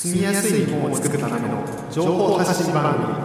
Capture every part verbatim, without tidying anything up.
住みやすい日本を作るための情報発信番組。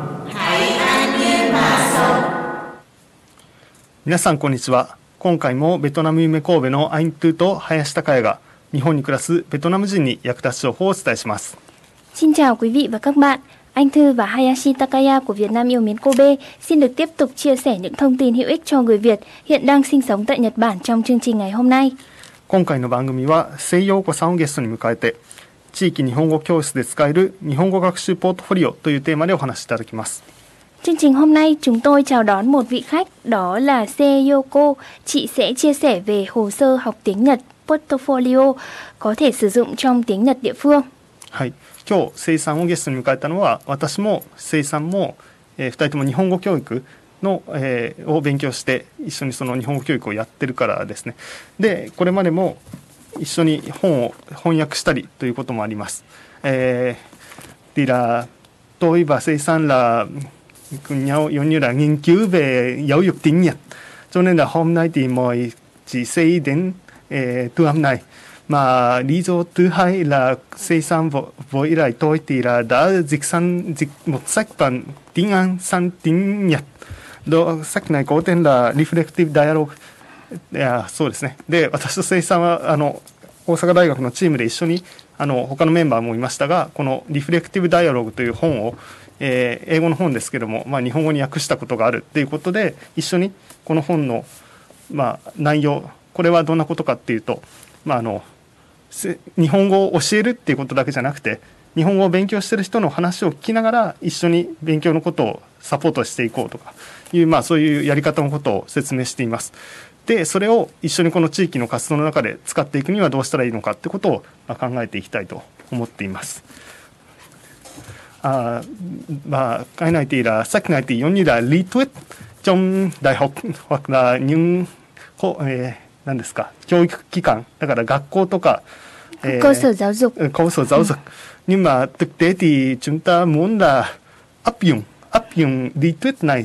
皆さんこんにちは。今回もベトナム夢神戸のアイントゥと林孝也が日本に暮らすベトナム人に役立つ情報をお伝えします。 Xin chào quý vị và các bạn. Anh Thư và Hayashi Takaya của Việt Nam yêu mến Kobe xin được tiếp tục chia sẻ những thông tin hữu ích cho người Việt hiện đang sinh sống tại Nhật Bản trong chương trình ngày hôm nay. 今回の番組は瀬井陽子さんをゲストに迎えて地域日本語教室で使える日本語学習ポートフォリオというテーマでお話しいただきます。 Chương trình hôm nay chúng tôi chào đón một vị khách, đó là Se Yoko. Chị sẽ chia sẻ về hồ sơ học tiếng Nhật portfolio có thể sử dụng trong tiếng Nhật địa phương. はい、今日瀬井さんをゲストに迎えたのは私も瀬井さんも、えー、ふたりとも日本語教育の、えー、を勉強して一緒にその日本語教育をやってるからですね。でこれまでも一緒に本を翻訳したりということもあります。えー、thì là tôi và Sei San là cùng nhau giống như là nghiên cứu về giáo dục tiếng Nhật. Cho nên là hôm nay thì mời chị Sei đến eh, thu âm này. Mà lý do thứ hai là Sei San với lại tôi thì là đã dịch sang dịch một sách bằng tiếng Anh sang tiếng Nhật. Đó, sách này có tên là Reflective Dialogue。いやそうですね。で私と瀬井さんはあの大阪大学のチームで一緒にあの他のメンバーもいましたが、このリフレクティブダイアログという本を、えー、英語の本ですけども、まあ、日本語に訳したことがあるっていうことで一緒にこの本の、まあ、内容、これはどんなことかっていうと、まあ、あの日本語を教えるっていうことだけじゃなくて日本語を勉強している人の話を聞きながら一緒に勉強のことをサポートしていこうとかいう、まあ、そういうやり方のことを説明しています。でそれを一緒にこの地域の活動の中で使っていくにはどうしたらいいのかってことを考えていきたいと思っています。À, và cái này thì là sách này thì giống như là lý thuyết trong đại học hoặc là những eh, 何ですか教育機関だから学校とか、 eh, cơ sở giáo dục cơ sở giáo dục nhưng mà thực tế thì chúng ta muốn là áp dụng áp dụng lý thuyết này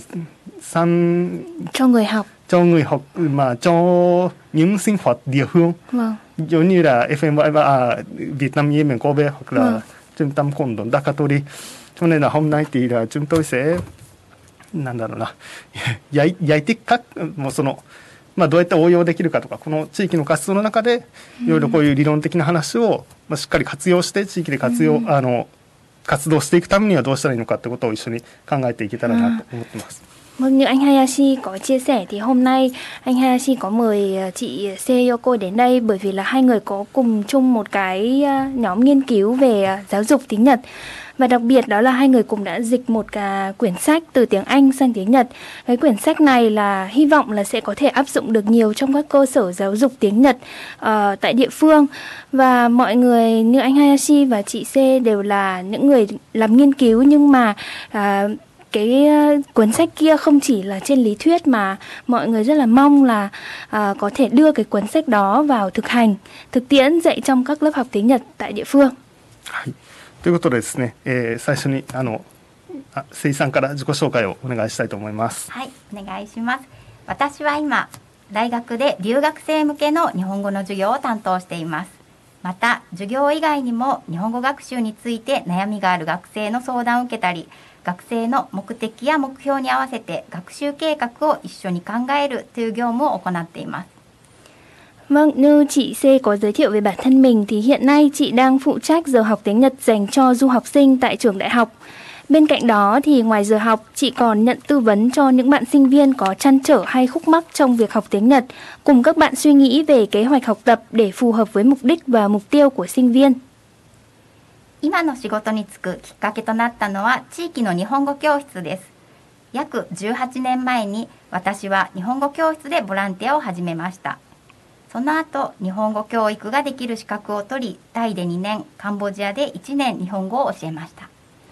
sang cho người học cho người học mà cho những sinh hoạt địa phương, vâng. giống như là ép em và à, Việt Nam Yemen Kobe hoặc là vâng. trung tâm cộng đồng Dakatori. Cho nên là hôm nay thì là chúng tôi sẽ なんだろうなgiải giải thích cácもうそのまあどうやって応用できるかとかこの地域の活動の中でいろいろこういう理論的な話をまあしっかり活用して地域で活用、うん、あの活動していくためにはどうしたらいいのかってことを一緒に考えていけたらなと思ってます。 Vâng, như anh Hayashi có chia sẻ thì hôm nay anh Hayashi có mời chị Se Yoko đến đây bởi vì là hai người có cùng chung một cái nhóm nghiên cứu về giáo dục tiếng Nhật. Và đặc biệt đó là hai người cùng đã dịch một cái quyển sách từ tiếng Anh sang tiếng Nhật. Cái quyển sách này là hy vọng là sẽ có thể áp dụng được nhiều trong các cơ sở giáo dục tiếng Nhật uh, tại địa phương. Và mọi người như anh Hayashi và chị Se đều là những người làm nghiên cứu nhưng mà uh, cái cuốn sách kia không chỉ là trên lý thuyết mà mọi người rất là mong là à, có thể đưa cái cuốn sách đó vào thực hành, thực tiễn dạy trong các lớp học tiếng Nhật tại địa phương. はい、ということでですね、えー、最初にあの瀬井さんから自己紹介をお願いしたいと思います。 はい、お願いします。私は今大学で留学生向けの日本語の授業を担当しています。また授業以外にも日本語学習について悩みがある学生の相談を受けたり、学生の目的や目標に合わせて学習計画を一緒に考えるという業務を行っています。 Vâng, như chị C có giới thiệu về bản thân mình thì hiện nay chị đang phụ trách giờ học tiếng Nhật dành cho du học sinh tại trường đại học. Bên cạnh đó thì ngoài giờ học, chị còn nhận tư vấn cho những bạn sinh viên có trăn trở hay khúc mắc trong việc học tiếng Nhật, cùng các bạn suy nghĩ về kế hoạch học tập để phù hợp với mục đích và mục tiêu của sinh viên. 今の仕事に就くきっかけとなったのは地域の日本語教室です。約じゅうはちねんまえに私は日本語教室でボランティアを始めました。その後日本語教育ができる資格を取り、タイでにねん、カンボジアでいちねん日本語を教えました。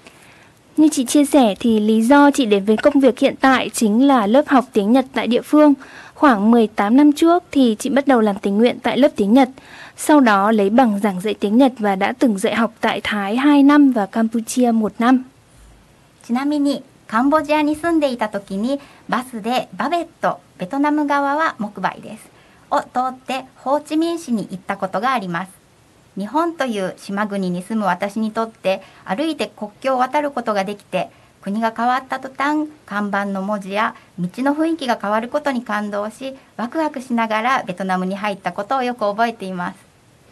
Như chị chia sẻ thì lý do chị đến với công việc hiện tại chính là lớp học tiếng Nhật tại địa phương. Khoảng mười tám năm trước thì chị bắt đầu làm tình nguyện tại lớp tiếng Nhật. Sau đó lấy bằng giảng dạy tiếng Nhật và đã từng dạy học tại Thái hai năm và Campuchia một năm. ちなみにカンボジアに住んでいた時にバスでバベット、ベトナム側はモクバイですを通ってホーチミン市に行ったことがあります。 日本という島国に住む私にとって歩いて国境を渡ることができて、国が変わった途端、看板の文字や道の雰囲気が変わることに感動し、ワクワクしながらベトナムに入ったことをよく覚えています。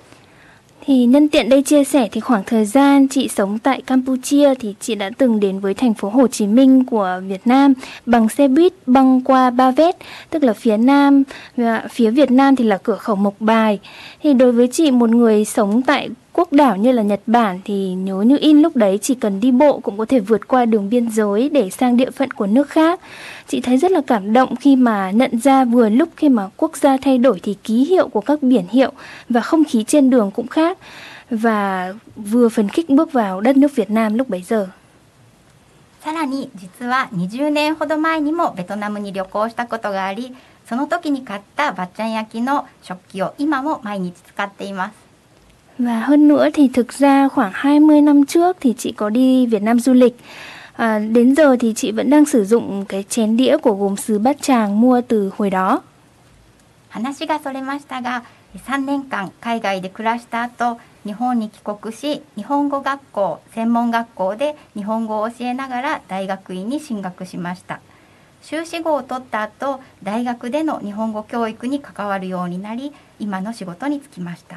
Thì nhân tiện đây chia sẻ thì khoảng thời gian chị sống tại Campuchia thì chị đã từng đến với thành phố Hồ Chí Minh của Việt Nam bằng xe buýt băng qua Ba Vét, tức là phía Nam, và phía Việt Nam thì là cửa khẩu Mộc Bài. Thì đối với chị, một người sống tại quốc đảo như là Nhật Bản thì nhớ như in lúc đấy chỉ cần đi bộ cũng có thể vượt qua đường biên giới để sang địa phận của nước khác. Chị thấy rất là cảm động khi mà nhận ra vừa lúc khi mà quốc gia thay đổi thì ký hiệu của các biển hiệu và không khí trên đường cũng khác, và vừa phấn khích bước vào đất nước Việt Nam lúc bấy giờ. さらに実はにじゅうねんほど前にもベトナムに旅行したことがあり、その時に買ったバッチャン焼きの食器を今も毎日使っています。 Và hơn nữa thì thực ra khoảng hai mươi năm trước thì chị có đi Việt Nam du lịch. À, đến giờ thì chị vẫn đang sử dụng cái chén đĩa của gốm sứ Bát Tràng mua từ hồi đó. 話がそれましたが、さんねんかん海外で暮らした後、日本に帰国し、日本語学校、専門学校で日本語を教えながら大学院に進学しました。修士号を取った後、大学での日本語教育に関わるようになり、今の仕事に就きました。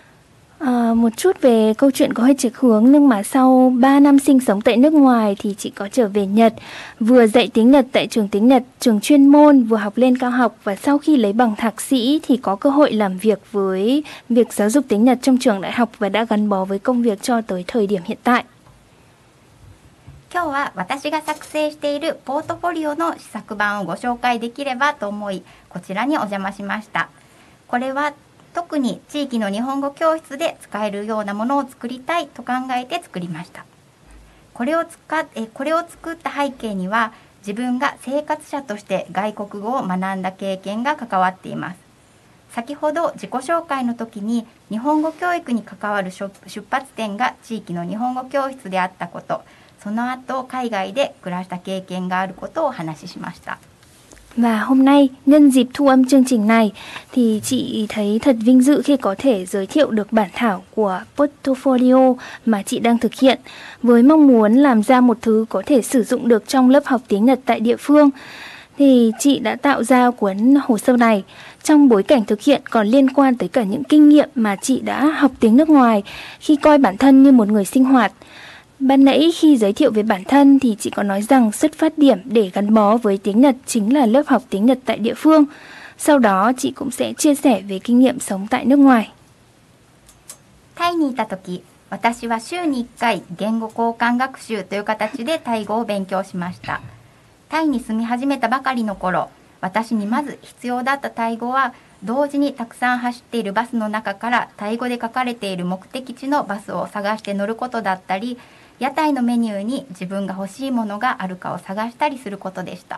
À, một chút về câu chuyện có hơi chệch hướng, nhưng mà sau ba năm sinh sống tại nước ngoài thì chị có trở về Nhật, vừa dạy tiếng Nhật tại trường tiếng Nhật, trường chuyên môn, vừa học lên cao học, và sau khi lấy bằng thạc sĩ thì có cơ hội làm việc với việc giáo dục tiếng Nhật trong trường đại học và đã gắn bó với công việc cho tới thời điểm hiện tại. 今日は私が作成しているポートフォリオの試作版をご紹介できればと思い、こちらにお邪魔しました。これは特に地域の日本語教室で使えるようなものを作りたいと考えて作りました。これを使っえこれを作った背景には、自分が生活者として外国語を学んだ経験が関わっています。先ほど自己紹介の時に日本語教育に関わる出発点が地域の日本語教室であったこと、その後海外で暮らした経験があることをお話ししました。 Và hôm nay, nhân dịp thu âm chương trình này, thì chị thấy thật vinh dự khi có thể giới thiệu được bản thảo của portfolio mà chị đang thực hiện, với mong muốn làm ra một thứ có thể sử dụng được trong lớp học tiếng Nhật tại địa phương. Thì chị đã tạo ra cuốn hồ sơ này trong bối cảnh thực hiện còn liên quan tới cả những kinh nghiệm mà chị đã học tiếng nước ngoài khi coi bản thân như một người sinh hoạt. Ban nãy khi giới thiệu về bản thân thì chị có nói rằng xuất phát điểm để gắn bó với tiếng Nhật chính là lớp học tiếng Nhật tại địa phương. Sau đó chị cũng sẽ chia sẻ về kinh nghiệm sống tại nước ngoài. タイにいた時、私は週にいっかい言語交換学習という形でタイ語を勉強しました。タイに住み始めたばかりの頃、私にまず必要だったタイ語は、同時にたくさん走っているバスの中からタイ語で書かれている目的地のバスを探して乗ることだったり、屋台のメニューに自分が欲しいものがあるかを探したりすることでした。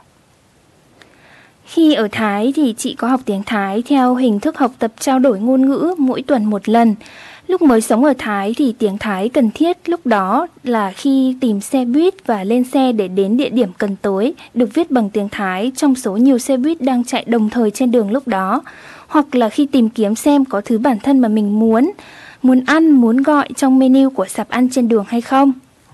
Khi ở Thái thì chị có học tiếng Thái theo hình thức học tập trao đổi ngôn ngữ mỗi tuần một lần. Lúc mới sống ở Thái thì tiếng Thái cần thiết lúc đó là khi tìm xe buýt và lên xe để đến địa điểm cần tới, được viết bằng tiếng Thái trong số nhiều xe buýt đang chạy đồng thời trên đường lúc đó. Hoặc là khi tìm kiếm xem có thứ bản thân mà mình muốn, muốn ăn, muốn gọi trong menu của sạp ăn trên đường hay không.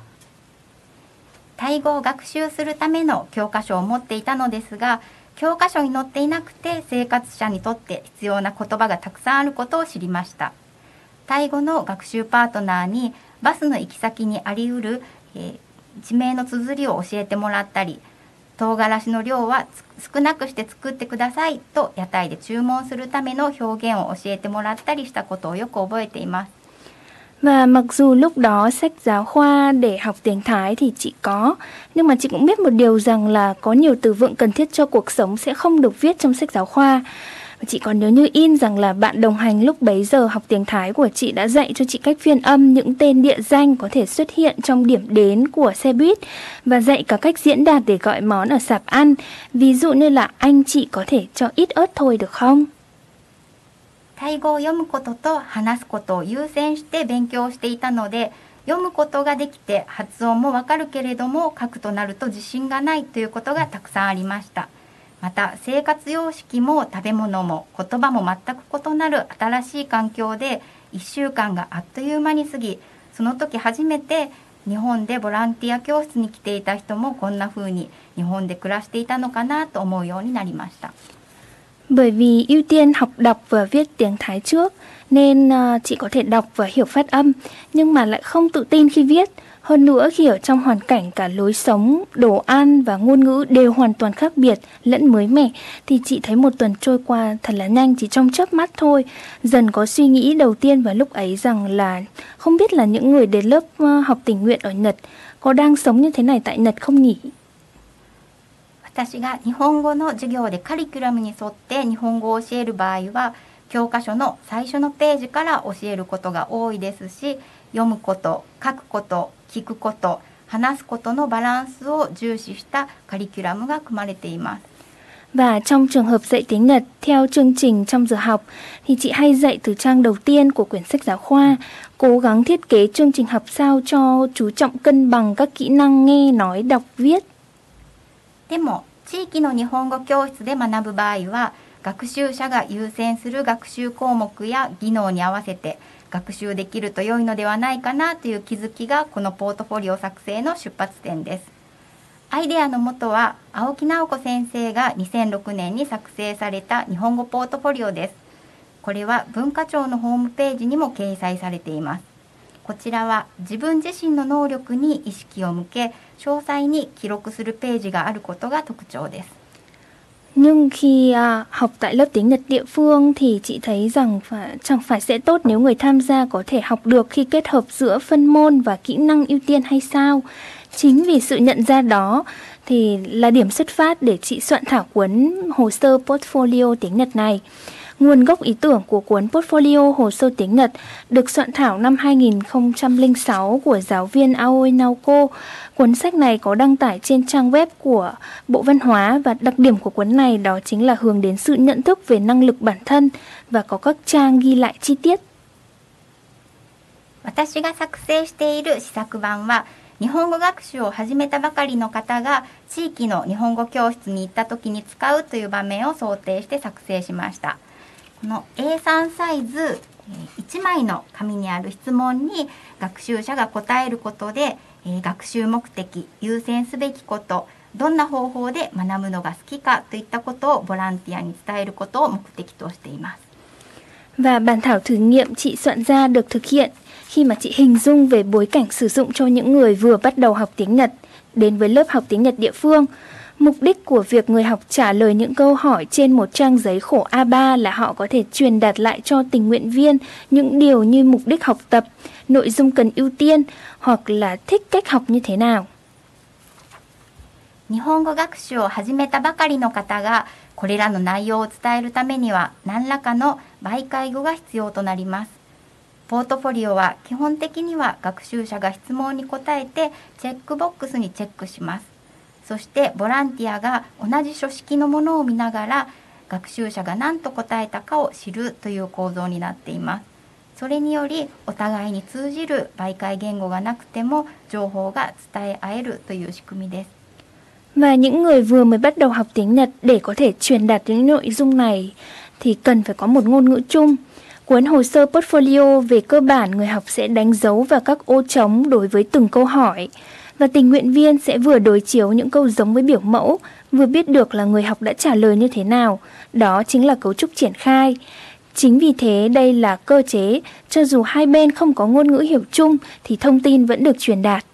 タイ語を学習するための教科書を持っていたのですが、教科書に載っていなくて生活者にとって必要な言葉がたくさんあることを知りました。タイ語の学習パートナーにバスの行き先にあり得る、えー、地名の綴りを教えてもらったり、唐辛子の量は少なくして作ってくださいと屋台で注文するための表現を教えてもらったりしたことをよく覚えています。 Và mặc dù lúc đó sách giáo khoa để học tiếng Thái thì chị có, nhưng mà chị cũng biết một điều rằng là có nhiều từ vựng cần thiết cho cuộc sống sẽ không được viết trong sách giáo khoa. Và chị còn nhớ như in rằng là bạn đồng hành lúc bấy giờ học tiếng Thái của chị đã dạy cho chị cách phiên âm những tên địa danh có thể xuất hiện trong điểm đến của xe buýt, và dạy cả cách diễn đạt để gọi món ở sạp ăn. Ví dụ như là anh chị có thể cho ít ớt thôi được không? タイ語を読むことと話すことを優先して勉強していたので、読むことができて発音もわかるけれども書くとなると自信がないということがたくさんありました。また生活様式も食べ物も言葉も全く異なる新しい環境で、 いっしゅうかんがあっという間に過ぎ、その時初めて日本でボランティア教室に来ていた人もこんな風に日本で暮らしていたのかなと思うようになりました。 Bởi vì ưu tiên học đọc và viết tiếng Thái trước nên uh, chị có thể đọc và hiểu phát âm, nhưng mà lại không tự tin khi viết. Hơn nữa khi ở trong hoàn cảnh cả lối sống, đồ ăn và ngôn ngữ đều hoàn toàn khác biệt lẫn mới mẻ, thì chị thấy một tuần trôi qua thật là nhanh, chỉ trong chớp mắt thôi. Dần có suy nghĩ đầu tiên vào lúc ấy rằng là không biết là những người đến lớp uh, học tình nguyện ở Nhật có đang sống như thế này tại Nhật không nhỉ? 私が日本語の授業でカリキュラムに沿って日本語を教える場合は、教科書の最初のページから教えることが多いですし、読むこと、書くこと、聞くこと、話すことのバランスを重視したカリキュラムが組まれています。 Và trong trường hợp dạy tiếng Nhật theo chương trình trong giờ học thì chị hay dạy từ trang đầu tiên của quyển sách giáo khoa, cố gắng thiết kế chương trình học sao cho chú trọng cân bằng các kỹ năng nghe, nói, đọc, viết. でも地域の日本語教室で学ぶ場合は、学習者が優先する学習項目や技能に合わせて学習できると良いのではないかなという気づきがこのポートフォリオ作成の出発点です。アイデアの元は青木直子先生がにせんろくねんに作成された日本語ポートフォリオです。これは文化庁のホームページにも掲載されています。こちらは自分自身の能力に意識を向け、詳細に記録するページがあることが特徴です。 Nhưng khi à, học tại lớp tiếng Nhật địa phương thì chị thấy rằng phải, chẳng phải sẽ tốt nếu người tham gia có thể học được khi kết hợp giữa phân môn và kỹ năng ưu tiên hay sao? Chính vì sự nhận ra đó thì là điểm xuất phát để chị soạn thảo cuốn hồ sơ portfolio tiếng Nhật này. Nguồn gốc ý tưởng của cuốn portfolio hồ sơ tiếng Nhật được soạn thảo năm hai nghìn không trăm lẻ sáu của giáo viên Aoi Naoko. Cuốn sách này có đăng tải trên trang web của Bộ Văn hóa và đặc điểm của cuốn này đó chính là hướng đến sự nhận thức về năng lực bản thân và có các trang ghi lại chi tiết. 私が作成している試作版は、日本語学習を始めたばかりの方が地域の日本語教室に行った時に使うという場面を想定して作成しました。この エースリー サイズいちまいの紙にある質問に学習者が答えることで、学習目的、優先すべきこと、どんな方法で学ぶのが好きかといったことをボランティアに伝えることを目的としています。 Và bản thảo thử nghiệm chị soạn ra được thực hiện khi mà chị hình dung về bối cảnh sử dụng cho những người vừa bắt đầu học tiếng Nhật đến với lớp học tiếng Nhật địa phương. Mục đích của việc người học trả lời những câu hỏi trên một trang giấy khổ A ba là họ có thể truyền đạt lại cho tình nguyện viên những điều như mục đích học tập, nội dung cần ưu tiên hoặc là thích cách học như thế nào. 日本語学習を始めたばかりの方がこれらの内容を伝えるためには何らかの媒介語が必要となります。ポートフォリオは基本的には学習者が質問に答えてチェックボックスにチェックします。そしてボランティアが同じ書式のものを見ながら学習者が何と答えたかを知るという構造になっています。それによりお互いに通じる媒介言語がなくても情報が伝え合えるという仕組みです。 Và những người vừa mới bắt đầu học tiếng Nhật để có thể truyền đạt những nội dung này thì cần phải có một ngôn ngữ chung. Cuốn hồ sơ portfolio về cơ bản người học sẽ đánh dấu vào các ô trống đối với từng câu hỏi. Và tình nguyện viên sẽ vừa đối chiếu những câu giống với biểu mẫu, vừa biết được là người học đã trả lời như thế nào. Đó chính là cấu trúc triển khai. Chính vì thế đây là cơ chế, cho dù hai bên không có ngôn ngữ hiểu chung thì thông tin vẫn được truyền đạt.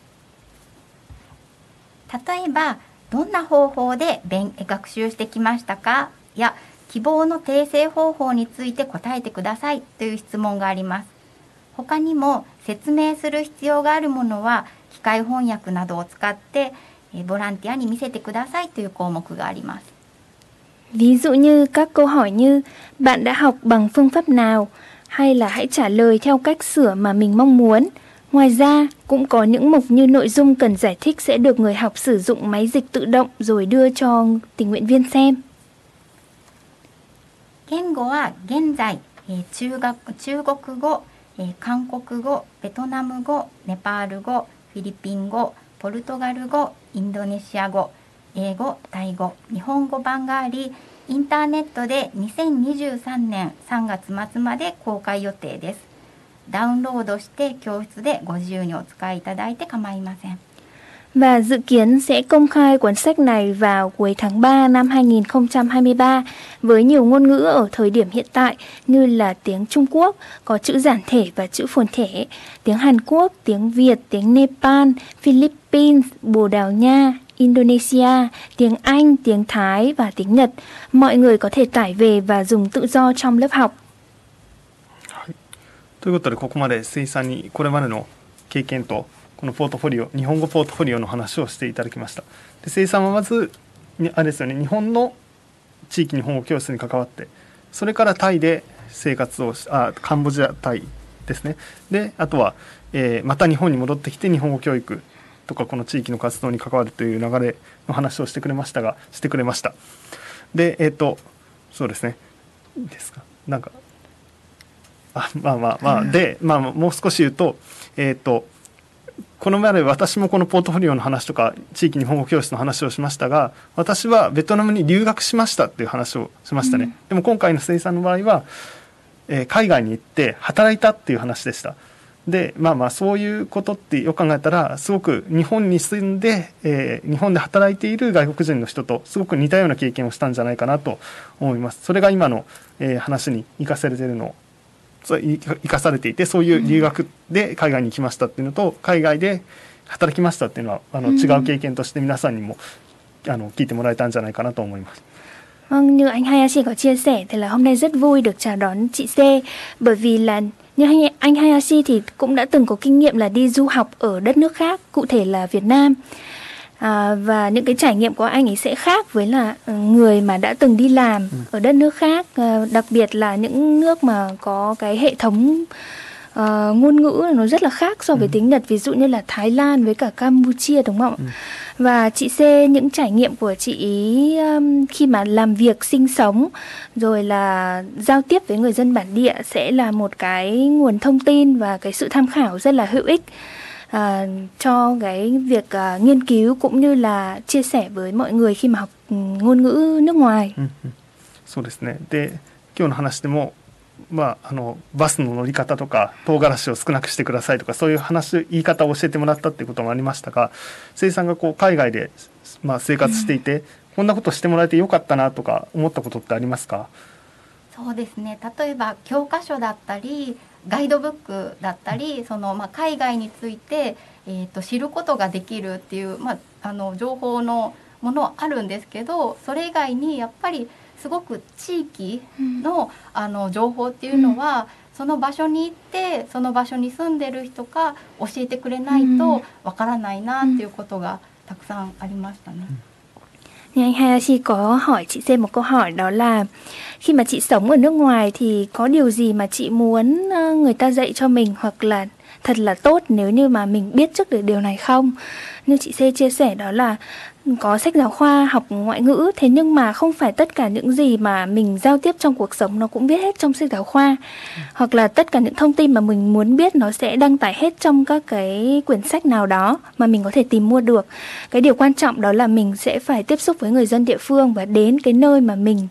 例えば、どんな方法で勉学習してきましたかや希望の訂正方法について答えてくださいという質問があります。他にも説明する必要があるものは機械翻訳などを使ってボランティアに見せてくださいという項目があります。 Ví dụ như các câu hỏi như bạn đã học bằng phương pháp nào hay là hãy trả lời theo cách sửa mà mình mong muốn. Ngoài ra, cũng có những mục như nội dung cần giải thích sẽ được người học sử dụng máy dịch tự động rồi đưa cho tình nguyện viên xem. 言語は現在、中学、中国語、韓国語、ベトナム語、ネパール語、フィリピン語、ポルトガル語、インドネシア語、英語、タイ語、日本語版があり、インターネットでにせんにじゅうさんねんさんがつ末まで公開予定です。 ダウンロードして教室でご自由にお使いいただいて構いません。 Và dự kiến sẽ công khai cuốn sách này vào cuối tháng ba năm hai nghìn không trăm hai mươi ba với nhiều ngôn ngữ ở thời điểm hiện tại như là tiếng Trung Quốc, có chữ giản thể và chữ phồn thể, tiếng Hàn Quốc, tiếng Việt, tiếng Nepal, Philippines, Bồ Đào Nha, Indonesia, tiếng Anh, tiếng Thái và tiếng Nhật. Mọi người có thể tải về và dùng tự do trong lớp học. ということでここまでせいさんにこれまでの経験とこのポートフォリオ、日本語ポートフォリオの話をしていただきました。で、せいさんはまずあれですよね、日本の地域日本語教室に関わって、それからタイで生活をし、あ、カンボジア、タイですね。で、あとは、えー、また日本に戻ってきて日本語教育とかこの地域の活動に関わるという流れの話をしてくれましたが、してくれました。で、えっと、そうですね。いいですか。なんか、あ、まあまあまあ、で、まあもう少し言うと、えっと、この前で私もこのポートフォリオの話とか地域日本語教室の話をしましたが、私はベトナムに留学しましたっていう話をしましたね、うん、でも今回のせいさんの場合は、えー、海外に行って働いたっていう話でした。で、まあまあそういうことってよく考えたらすごく日本に住んで、えー、日本で働いている外国人の人とすごく似たような経験をしたんじゃないかなと思います。それが今の、えー、話に生かされているのを生かされていて、そういう留学で海外に来ましたっていうのと、海外で働きましたっていうのはあの違う経験として皆さんにもあの聞いてもらえたんじゃないかなと思います。 Vâng, như anh Hayashi có chia sẻ thì là hôm nay rất vui được chào đón chị C, bởi vì là như anh Hayashi thì cũng đã từng có kinh nghiệm là đi du học ở đất nước khác, cụ thể là Việt Nam. À, và những cái trải nghiệm của anh ấy sẽ khác với là người mà đã từng đi làm ừ. ở đất nước khác, à, đặc biệt là những nước mà có cái hệ thống uh, ngôn ngữ nó rất là khác so với ừ. tiếng Nhật, ví dụ như là Thái Lan với cả Campuchia, đúng không ạ? Ừ. Và chị C, những trải nghiệm của chị ý um, khi mà làm việc, sinh sống rồi là giao tiếp với người dân bản địa sẽ là một cái nguồn thông tin và cái sự tham khảo rất là hữu ích À, cho cái việc uh, nghiên cứu cũng như là chia sẻ với mọi người khi mà học ngôn ngữ nước ngoài. そうですね。で、今日の話でも、まあ、あのバスの乗り方とか唐辛子を少なくしてくださいとかそういう話言い方を教えてもらったっていうこともありましたが、せいさんがこう海外で、まあ、生活していて、うん、こんなことしてもらえてよかったなとか思ったことってありますか？ そうですね。例えば教科書だったりガイドブックだったり、そのまあ海外について、えー、と知ることができるっていう、まあ、あの情報のものはあるんですけど、それ以外にやっぱりすごく地域 の,、うん、あの情報っていうのは、うん、その場所に行ってその場所に住んでる人が教えてくれないとわからないなっていうことがたくさんありましたね。うん Thì anh Hayashi có hỏi chị C một câu hỏi, đó là khi mà chị sống ở nước ngoài thì có điều gì mà chị muốn người ta dạy cho mình hoặc là thật là tốt nếu như mà mình biết trước được điều này không? Như chị C chia sẻ đó là có sách giáo khoa học ngoại ngữ, thế nhưng mà không phải tất cả những gì mà mình giao tiếp trong cuộc sống nó cũng viết hết trong sách giáo khoa. Ừ. Hoặc là tất cả những thông tin mà mình muốn biết nó sẽ đăng tải hết trong các cái quyển sách nào đó mà mình có thể tìm mua được. Cái điều quan trọng đó là mình sẽ phải tiếp xúc với người dân địa phương và đến cái nơi mà mình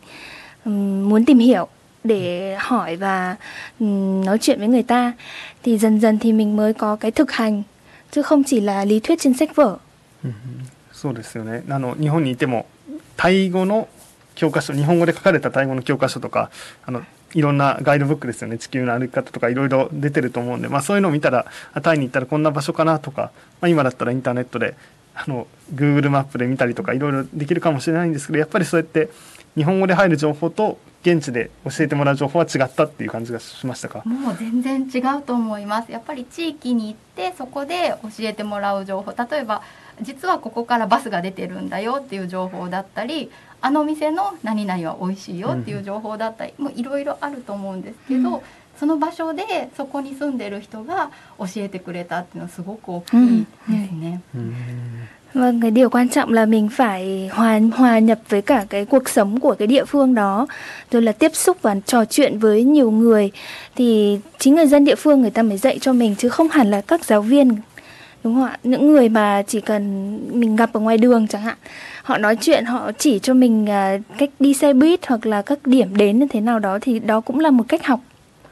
um, muốn tìm hiểu để hỏi và um, nói chuyện với người ta. Thì dần dần thì mình mới có cái thực hành, chứ không chỉ là lý thuyết trên sách vở. Ừ. そうですよね。あの日本にいてもタイ語の教科書、日本語で書かれたタイ語の教科書とか、あのいろんなガイドブックですよね、地球の歩き方とかいろいろ出てると思うんで、まあ、そういうのを見たらタイに行ったらこんな場所かなとか、まあ、今だったらインターネットであの Google マップで見たりとかいろいろできるかもしれないんですけど、やっぱりそうやって日本語で入る情報と現地で教えてもらう情報は違ったっていう感じがしましたか？ もう全然違うと思います。やっぱり地域に行ってそこで教えてもらう情報、例えば実はここからバスが出てるんだよっていう情報だったり、あの店の何々は美味しいよっていう情報だったり、もういろいろあると思うんですけど、うん、その場所でそこに住んでる人が教えてくれたっていうのはすごく大きいですね。 うんうん、 Vâng, cái điều quan trọng là mình phải hòa hòa nhập với cả cái cuộc sống của cái địa phương đó, rồi là tiếp xúc và trò chuyện với nhiều người, thì chính người dân địa phương người ta mới dạy cho mình, chứ không hẳn là các giáo viên, đúng không ạ? Những người mà chỉ cần mình gặp ở ngoài đường chẳng hạn, họ nói chuyện, họ chỉ cho mình cách đi xe buýt hoặc là các điểm đến như thế nào đó, thì đó cũng là một cách học.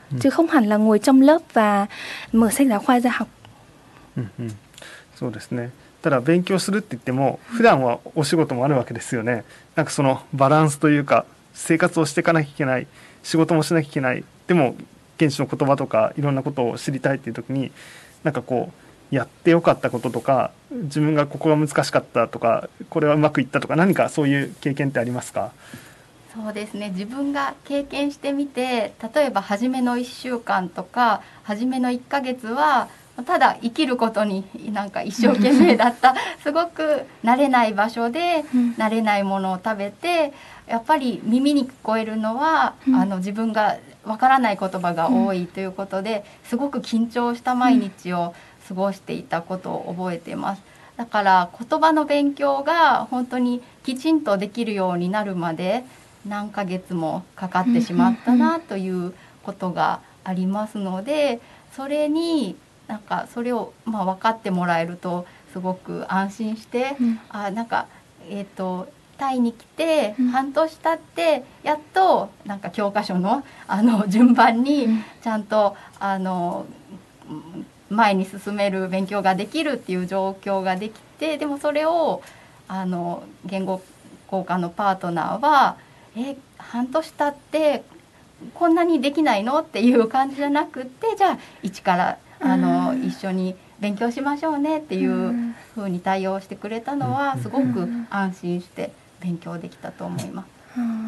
chứ không hẳn là ngồi trong lớp và mở sách giáo khoa ra học. うんうん、そうですね。ただ勉強するって言っても普段はお仕事もあるわけですよね。なんかそのバランスというか生活をしていかなきゃいけない、仕事もしなきゃいけない、でも現地の言葉とかいろんなことを知りたいっていう時になんかこうやってよかったこととか自分がここが難しかったとかこれはうまくいったとか何かそういう経験ってありますか？ そうですね、自分が経験してみて、例えば初めのいっしゅうかんとか初めのいっかげつはただ生きることになんか一生懸命だったすごく慣れない場所で慣れないものを食べて、やっぱり耳に聞こえるのは、うん、あの自分がわからない言葉が多いということで、すごく緊張した毎日を過ごしていたことを覚えています。だから言葉の勉強が本当にきちんとできるようになるまで何ヶ月もかかってしまったなということがありますので、それになんかそれをまあ分かってもらえるとすごく安心して、うん、あなんかえっとタイに来て半年経ってやっとなんか教科書のあの順番にちゃんとあの前に進める勉強ができるっていう状況ができて、でもそれをあの言語交換のパートナーはえ半年経ってこんなにできないのっていう感じじゃなくって、じゃあ一からあの一緒に勉強しましょうねっていう風に対応してくれたのはすごく安心して勉強できたと思います。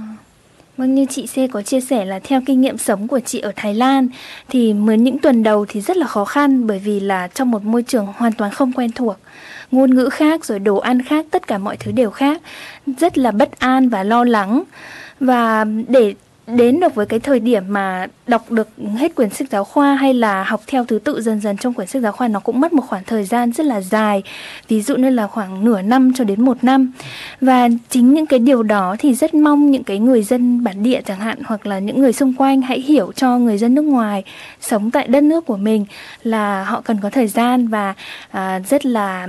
Vâng, như chị C có chia sẻ là theo kinh nghiệm sống của chị ở Thái Lan thì mới những tuần đầu thì rất là khó khăn, bởi vì là trong một môi trường hoàn toàn không quen thuộc, ngôn ngữ khác, rồi đồ ăn khác, tất cả mọi thứ đều khác, rất là bất an và lo lắng. Và để đến được với cái thời điểm mà đọc được hết quyển sách giáo khoa hay là học theo thứ tự dần dần trong quyển sách giáo khoa, nó cũng mất một khoảng thời gian rất là dài, ví dụ như là khoảng nửa năm cho đến một năm. Và chính những cái điều đó thì rất mong những cái người dân bản địa chẳng hạn, hoặc là những người xung quanh hãy hiểu cho người dân nước ngoài sống tại đất nước của mình là họ cần có thời gian và à, rất là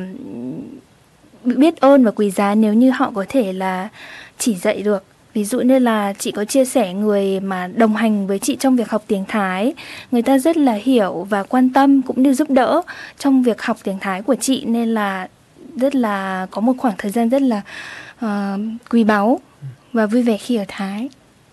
biết ơn và quý giá nếu như họ có thể là chỉ dạy được. Ví dụ như là chị có chia sẻ người mà đồng hành với chị trong việc học tiếng Thái, người ta rất là hiểu và quan tâm cũng như giúp đỡ trong việc học tiếng Thái của chị, nên là rất là có một khoảng thời gian rất là uh, quý báu và vui vẻ khi ở Thái.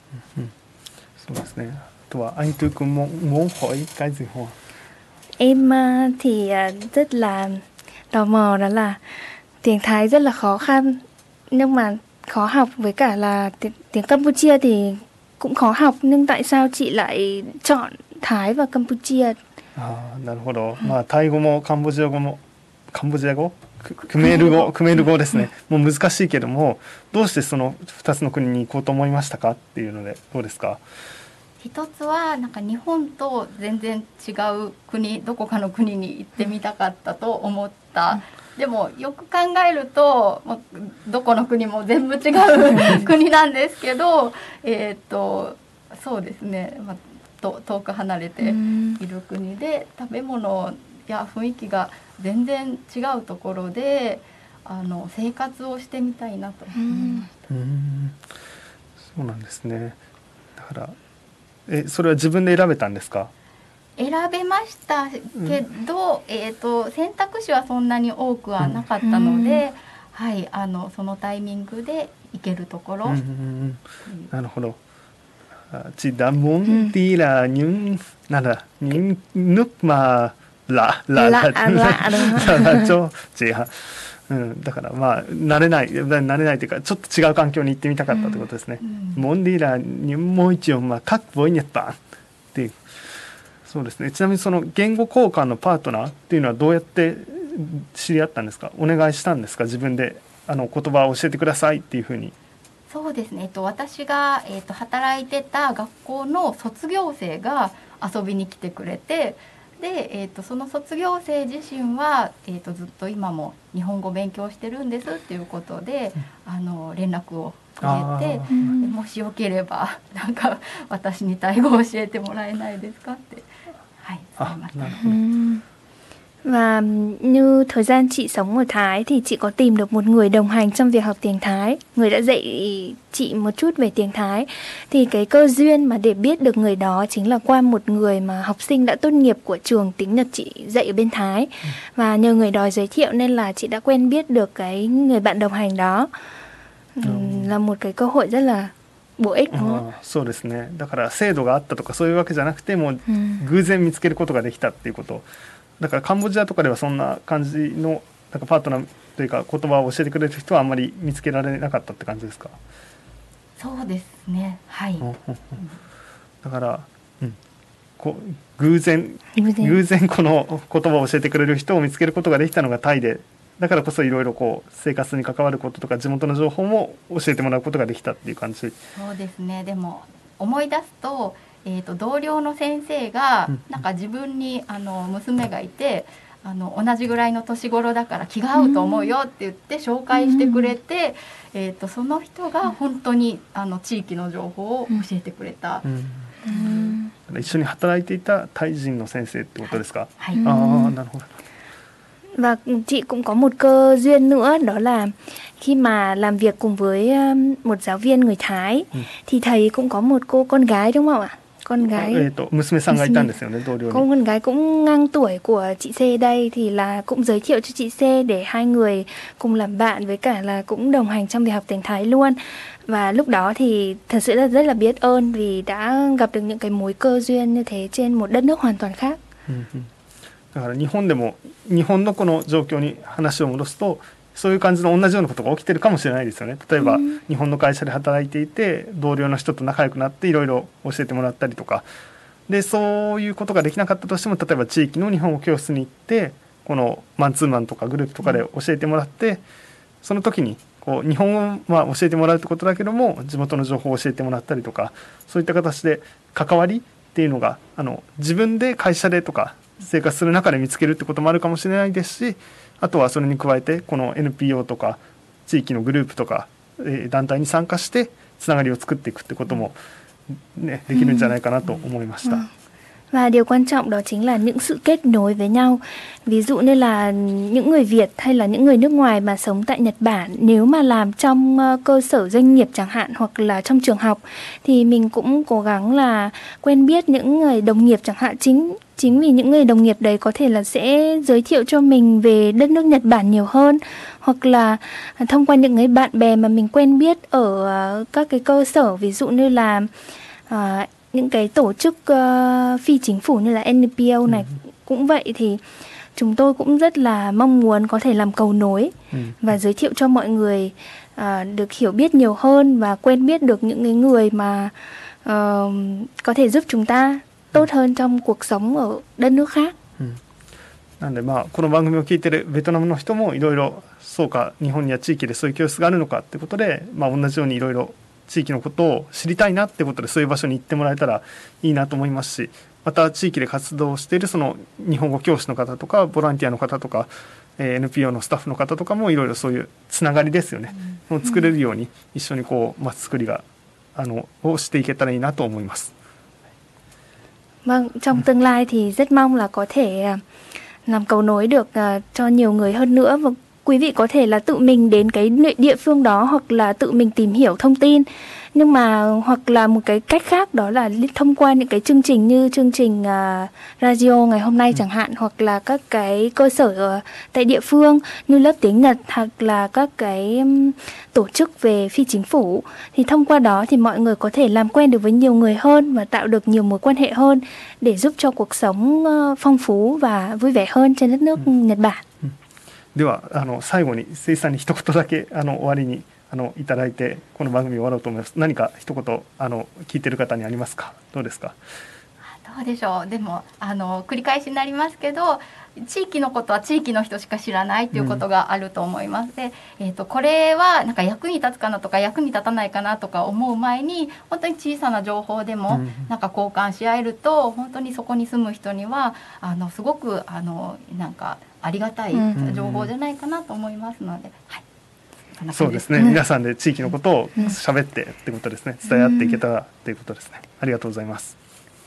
Em uh, thì uh, rất là tò mò, đó là tiếng Thái rất là khó khăn nhưng mà khó học, với cả là tiếng, tiếng Campuchia thì cũng khó học, nhưng tại sao chị lại chọn Thái và Campuchia? ああ、なるほど。まあタイ語もカンボジア語もカンボジア語、クメール語、クメール語ですね。もう難しいけども、どうしてそのふたつの国に行こうと思いましたかっていうのでどうですか？ 一つはなんか日本と全然違う国、どこかの国に行ってみたかったと思った。でもよく考えると、まあ、どこの国も全部違う国なんですけどえっとそうですね、まあ、と遠く離れている国で食べ物や雰囲気が全然違うところであの生活をしてみたいなと思いました。 うーん、そうなんですね。だからえそれは自分で選べたんですか？ 選べましたけど、うんえー、と選択肢はそんなに多くはなかったので、うんはい、あのそのタイミングで行けるところ、うんうん、 なるほど。Chị đã muốn đi là những là, là những nước mà lạ lạ lạ lạ lạ cho chị ha。うん、だからまあ慣れない慣れないというかちょっと違う環境に行ってみたかったということですね。モンディラにもう一応まあ各ボイニャッタンっていう。そうですね。ちなみにその言語交換のパートナーっていうのはどうやって知り合ったんですか？お願いしたんですか？自分であの言葉を教えてくださいっていうふうに。 そうですね、えっと、私が、えっと、働いてた学校の卒業生が遊びに来てくれて、で、えっと、その卒業生自身は、えっと、ずっと今も日本語勉強してるんですっていうことで、うん、あの連絡をくれて、でもしよければなんか私にタイ語を教えてもらえないですかって、はい、伝えました。 Và như thời gian chị sống ở Thái thì chị có tìm được một người đồng hành trong việc học tiếng Thái, người đã dạy chị một chút về tiếng Thái. Thì cái cơ duyên mà để biết được người đó chính là qua một người mà học sinh đã tốt nghiệp của trường tiếng Nhật chị dạy ở bên Thái. Và nhờ người đó giới thiệu nên là chị đã quen biết được cái người bạn đồng hành đó. Ừ. Là một cái cơ hội rất là bổ ích đúng không? そうですね。だから制度があったとかそういうわけじゃなくてもう偶然見つけることができたっていうこと。だからカンボジアとかではそんな感じのなんかパートナーというか言葉を教えてくれる人はあんまり見つけられなかったって感じですか？ そうですね。はい。うん、 だから、うん、こう偶然偶然この言葉を教えてくれる人を見つけることができたのがタイで、だからこそいろいろこう生活に関わることとか地元の情報も教えてもらうことができたっていう感じ。 そうですね。でも思い出すと。えー、と同僚の先生がなんか自分にあの娘がいてあの同じぐらいの年頃だから気が合うと思うよって言って紹介してくれて、うん、えー、とその人が本当にあの地域の情報を教えてくれた、うんうんうん、一緒に働いていたタイ人の先生ってことですか？ はい、 ああ、なるほど。 Và chị cũng có một cơ duyên nữa, đó là khi mà làm việc cùng với một giáo viên người Thái, ừ. thì thầy cũng có một cô con gái đúng không ạ? Con gái. Ờ, to, cô con gái cũng ngang tuổi của chị C đây, thì là cũng giới thiệu cho chị C để hai người cùng làm bạn, với cả là cũng đồng hành trong việc học tiếng Thái luôn. Và lúc đó thì thật sự là rất là biết ơn vì đã gặp được những cái mối cơ duyên như thế trên một đất nước hoàn toàn khác. Ừ. だから日本でも日本のこの状況に話を戻すとそういう感じの同じようなことが起きてるかもしれないですよね。例えば、うん、日本の会社で働いていて同僚の人と仲良くなっていろいろ教えてもらったりとかで、そういうことができなかったとしても例えば地域の日本語教室に行ってこのマンツーマンとかグループとかで教えてもらって、うん、その時にこう日本語を教えてもらうってことだけども地元の情報を教えてもらったりとか、そういった形で関わりっていうのがあの自分で会社でとか生活する中で見つけるってこともあるかもしれないですし、あとはそれに加えてこの エヌピーオー とか地域のグループとか、えー、団体に参加してつながりを作っていくってことも、ね、できるんじゃないかなと思いました。うんうん、 Và điều quan trọng đó chính là những sự kết nối với nhau. Ví dụ như là những người Việt hay là những người nước ngoài mà sống tại Nhật Bản, nếu mà làm trong cơ sở doanh nghiệp chẳng hạn hoặc là trong trường học thì mình cũng cố gắng là quen biết những người đồng nghiệp chẳng hạn. Chính chính vì những người đồng nghiệp đấy có thể là sẽ giới thiệu cho mình về đất nước Nhật Bản nhiều hơn, hoặc là thông qua những người bạn bè mà mình quen biết ở các cái cơ sở, ví dụ như là uh, những cái tổ chức uh, phi chính phủ như là en pê ô này. Ừ. Cũng vậy thì chúng tôi cũng rất là mong muốn có thể làm cầu nối ừ. và giới thiệu cho mọi người uh, được hiểu biết nhiều hơn và quen biết được những cái người mà uh, có thể giúp chúng ta tốt hơn trong cuộc sống ở đất nước khác. Ừ. なんでまあこの番組を聞いてるベトナムの人もいろいろそうか日本には地域でそういう教室があるのかってことで、まあ同じようにいろいろ地域のことを知りたいなってことでそういう場所に行ってもらえたらいいなと思いますし、また地域で活動しているその日本語教師の方とかボランティアの方とか、えー、エヌピーオー のスタッフの方とかもいろいろそういうつながりですよね、うん、を作れるように一緒にこう街づくりがあのをしていけたらいいなと思います。 Vâng, trong tương lai thì rất mong là có thể làm cầu nối được cho nhiều người hơn nữa, và quý vị có thể là tự mình đến cái địa phương đó hoặc là tự mình tìm hiểu thông tin. Nhưng mà hoặc là một cái cách khác đó là thông qua những cái chương trình như chương trình uh, radio ngày hôm nay chẳng hạn, hoặc là các cái cơ sở uh, tại địa phương như lớp tiếng Nhật hoặc là các cái um, tổ chức về phi chính phủ. Thì thông qua đó thì mọi người có thể làm quen được với nhiều người hơn và tạo được nhiều mối quan hệ hơn để giúp cho cuộc sống uh, phong phú và vui vẻ hơn trên đất nước ừ. Nhật Bản. ではあの最後にせいさんに一言だけあの終わりにあのいただいてこの番組終わろうと思います。何か一言あの聞いてる方にありますか？どうですか？ どうでしょう。でもあの繰り返しになりますけど、地域のことは地域の人しか知らないということがあると思います。で、えーと、これはなんか役に立つかなとか役に立たないかなとか思う前に本当に小さな情報でもなんか交換し合えると、本当にそこに住む人にはあのすごくあのなんかありがたい情報じゃないかなと思いますので、はい。 そうですね、うん、皆さんで地域のことを喋ってってことですね、伝え合っていけたらっていうことですね。ありがとうございます。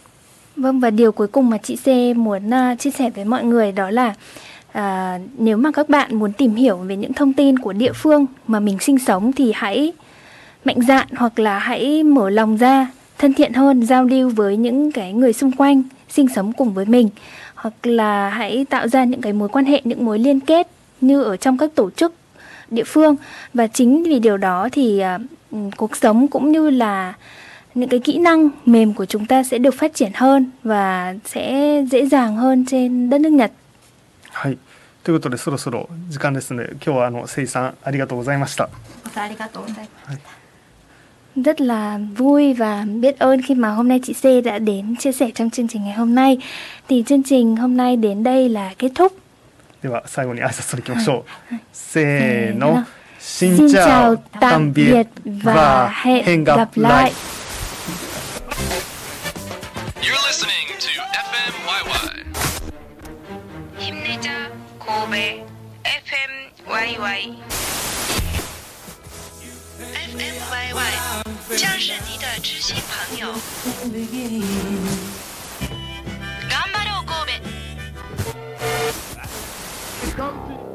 Vâng, và điều cuối cùng mà chị C muốn uh, chia sẻ với mọi người đó là uh, nếu mà các bạn muốn tìm hiểu về những thông tin của địa phương mà mình sinh sống thì hãy mạnh dạn hoặc là hãy mở lòng ra, thân thiện hơn, giao lưu với những cái người xung quanh sinh sống cùng với mình, hoặc là hãy tạo ra những cái mối quan hệ, những mối liên kết như ở trong các tổ chức địa phương. Và chính vì điều đó thì uh, cuộc sống cũng như là những cái kỹ năng mềm của chúng ta sẽ được phát triển hơn và sẽ dễ dàng hơn trên đất nước Nhật. はい。ということでそろそろ時間ですので、今日はあのせいさんありがとうございました。 ありがとうございました。 Rất là vui và biết ơn khi mà hôm nay chị C đã đến chia sẻ trong chương trình ngày hôm nay. Thì chương trình hôm nay đến đây là kết thúc. では最後に挨拶をいきましょう。せーの。 Xin chào, tạm biệt và hẹn gặp lại. You're listening to ép emワイワイ. 힘내자 고베 ép em 와이 와이. ép em 와이 와이 将是你的知心朋友。頑張ろう神戸。